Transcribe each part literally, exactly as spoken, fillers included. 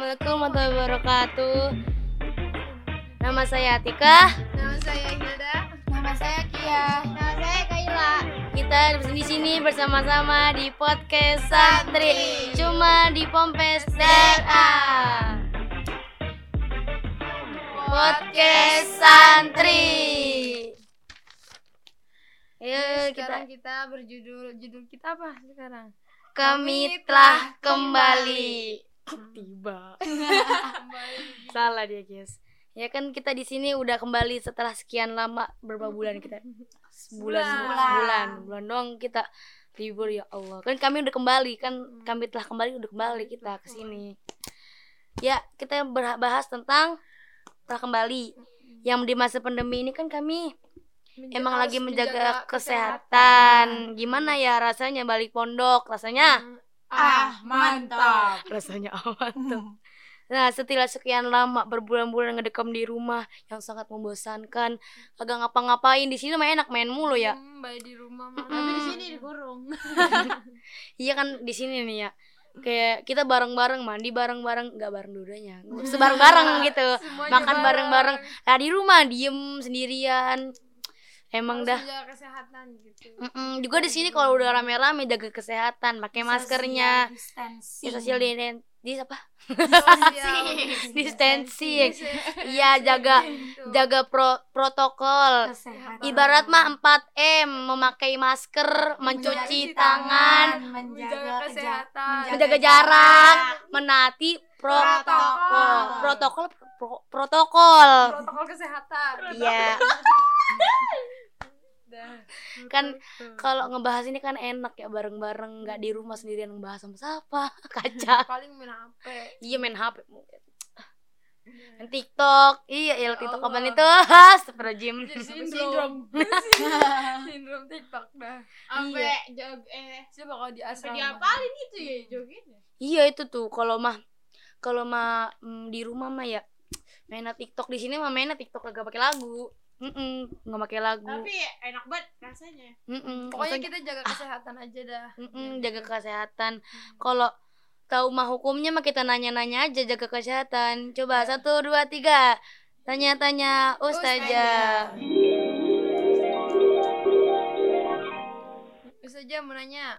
Assalamualaikum warahmatullahi wabarakatuh. Nama saya Atika. Nama saya Hilda. Nama saya Kia. Nama saya Kaila. Kita di sini bersama-sama di podcast Santri. Cuma di Pompes D R A. Podcast Santri. Ayo Sekarang kita kita berjudul judul kita apa sekarang? kami telah kembali. Tiba. Kembali. Salah dia, guys. Ya kan kita di sini udah kembali setelah sekian lama, berapa bulan kita? Sebulan, Sebulan. sebulan, bulan doang kita libur, ya Allah. Kan kami udah kembali, kan kami telah kembali udah kembali kita ke sini. Ya, kita bahas tentang telah kembali. Yang di masa pandemi ini kan kami Menjaga- emang lagi harus menjaga kesehatan. Gimana ya rasanya balik pondok? Rasanya Ah, mantap. rasanya aman tuh. Nah, setelah sekian lama berbulan-bulan ngedekam di rumah yang sangat membosankan, kagak ngapa-ngapain, di sini mah enak main mulu ya. Hmm, baik di rumah mah. Mm-mm. Tapi di sini dikurung. Iya kan di sini nih ya. Kayak kita bareng-bareng mandi bareng-bareng, enggak bareng dudanya. Sebareng-bareng gitu. Semuanya Makan bareng-bareng. Nah, di rumah diem sendirian. Emang Harus dah. menjaga kesehatan gitu. Mm-mm. Juga di sini kalau udah rame-rame jaga kesehatan, pakai maskernya. Distancing. Ya, social di di apa? Sosial Distancing. Iya, jaga jaga pro, protokol. Kesehatan. Ibarat mah empat M, memakai masker, mencuci tangan, menjaga kesehatan, menjaga jarak, menaati protokol. Protokol. Protokol pro- protokol. protokol kesehatan. Iya, Dah. kan kalau ngebahas ini kan enak ya bareng-bareng, nggak di rumah sendirian ngebahas sama siapa. Kacau. paling main H P. Iya, main H P. Main TikTok. Iya, ya TikTok Allah. kapan itu? Astagfirullahaladzim. Jadi sindrom. Sindrom TikTok dah. Sampai jog eh Coba kalau di asrama. diapalin itu ya jogetnya. Iya, itu tuh kalau mah kalau mah mm, di rumah mah ya mainnya TikTok. Di sini mah mainnya TikTok kagak pakai lagu. Mm nggak pakai lagu. Tapi enak banget rasanya. Mm-mm. Pokoknya Maksudnya, kita jaga kesehatan aja dah. mm-mm, jaga kesehatan. Kalau tahu mah hukumnya mah kita nanya-nanya aja jaga kesehatan. Coba satu dua tiga tanya-tanya ustazah. Ustazah mau nanya.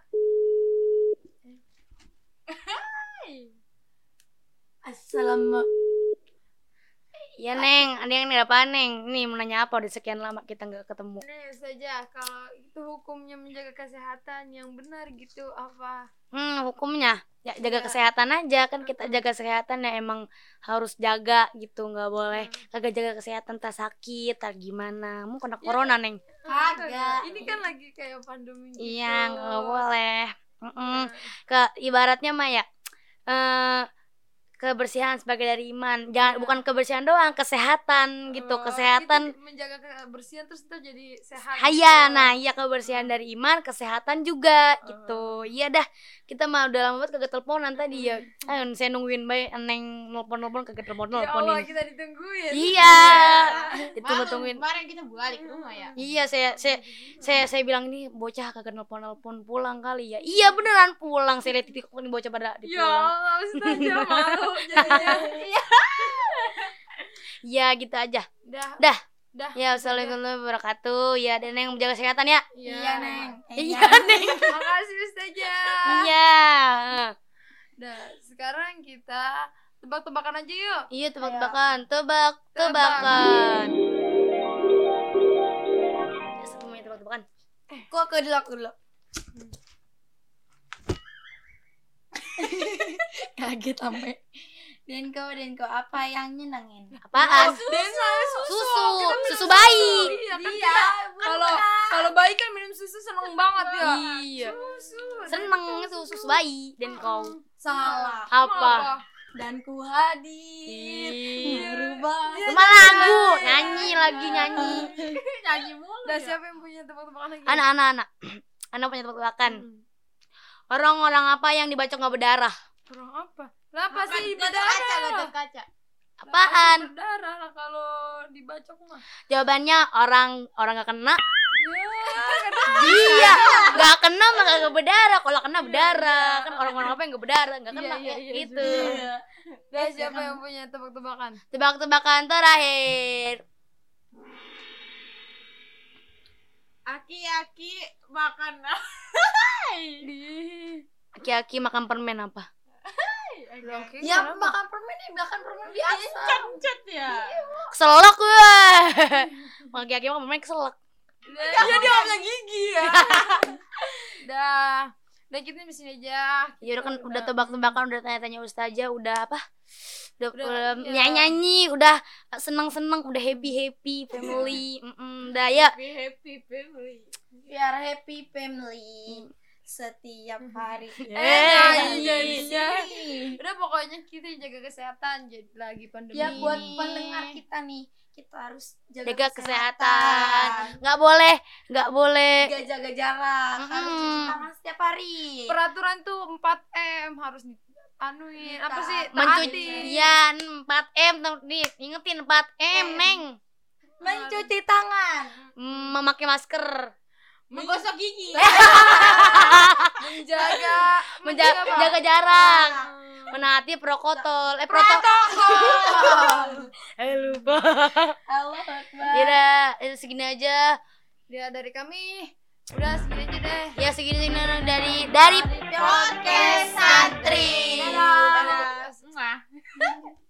Assalamualaikum. Ya Neng, ada yang nih apa Neng? Nih mau nanya apa? Udah sekian lama kita nggak ketemu. Nih Ustazah, kalau itu hukumnya menjaga kesehatan yang benar gitu apa? Hmm, hukumnya ya jaga Iya. kesehatan aja, kan kita jaga kesehatan ya emang harus jaga gitu, nggak boleh kagak jaga kesehatan tak sakit tak gimana. Mau kena corona Neng? Kagak. Ini kan lagi kayak pandemi gitu. Iya, nggak boleh. Mm-mm. Nah, Ke ibaratnya mah ya eh kebersihan sebagai dari iman. Jangan Iya. bukan kebersihan doang, kesehatan gitu. oh, Kesehatan. kita menjaga kebersihan terus kita jadi sehat. Haya, gitu. nah iya kebersihan dari iman, kesehatan juga gitu. Iya dah, kita mah udah lama banget kagak teleponan tadi ya. Ayo saya nungguin bae Neng nelpon-nelpon kagak Ya Allah, telepon-teleponin. kita ditungguin. Iya. Malam Ditunggu-tungguin. kemarin kita balik ke rumah ya. Iya, saya saya saya saya bilang ini bocah kagak nelpon-nelpon pulang kali ya. Iya beneran pulang. Saya lihat di TikTok nih bocah pada di Ya pulang. Allah, Ustazah malu jadinya. Iya, gitu aja. Dah. Dah. Dah. Ya, assalamualaikum warahmatullahi wabarakatuh. Ya, dan yang menjaga kesehatan ya. Iya, Neng. Iya, Neng. Makasih Ustazah. Iya. Dah, sekarang kita tebak-tebakan aja yuk. Iya, tebak-tebakan. Tebak-tebakan. Ya, semuanya tebak-tebakan. Kok aku dulu aku dulu. Kaget sampai. Denko, Denko, apa yang nyenengin? Apaan? Dan saya susu. Susu. Kita minum Susu bayi. Iya, kan Iya, kita- kalau kalau bayi kan minum susu seneng banget ya. Iya. Susu. Seneng itu susu bayi. Dan kau Salah. apa? Dan ku hadir Ih. merubah. Iya. Cuma lagu, nyanyi lagi nyanyi. Nyanyi mulu. Dah, ya. siapa yang punya tebak-tebakan lagi? Anak-anak, anak. Anak punya tebak-tebakan. Hmm. Orang-orang apa yang dibacok nggak berdarah? Orang apa? Lah apa sih Gatot berdarah? kaca, gatot kaca. Apaan? Berdarah lah kalau dibacok mah. Jawabannya orang orang nggak kena, Iya, nggak kena mah nggak berdarah. Kalau kena berdarah, kan orang-orang apa yang nggak berdarah nggak kena, Iya, iya, ya, iya, gitu. Iya. Dah, siapa yang punya tebak-tebakan? Tebak-tebakan terakhir. Aki-aki makan Aki-aki makan permen apa? Ya makan permen nih, makan permen biasa. Cet ya. Keselak gue. Aki-aki makan permen keselak. Iya, dia nggak punya gigi ya. Dah, udah kita di sini aja. Ya udah kan udah tebak-tebakan, udah tanya-tanya ustazah, udah apa? Udah, Udah, udah iya. nyanyi-nyanyi, udah seneng-seneng, udah happy-happy family. Mm-mm, udah ya. Happy happy family. Biar happy family setiap hari. Eh, nyanyi, nyanyi. nyanyi. Udah pokoknya kita jaga kesehatan jadi lagi pandemi. Ya buat ini. pendengar kita nih, kita harus jaga, Jaga kesehatan. Nggak boleh, nggak boleh. Jaga jaga jarak, harus Mm-mm. cuci tangan setiap hari. Peraturan tuh empat M harus dianuin. Apa sih? Mencuci Taati. ya empat M nih, ingetin empat M, Neng. Mencuci tangan. Mm, memakai masker. Menggosok gigi. Menjaga Menjaga apa? jaga jarak. Menaati protokol. Eh protokol. Eh lupa. Allah Akbar. Ya udah, itu segini aja. Dia dari kami. Udah segini aja deh. Ya segini segini dari dari Podcast Santri. Dadah. Mwah.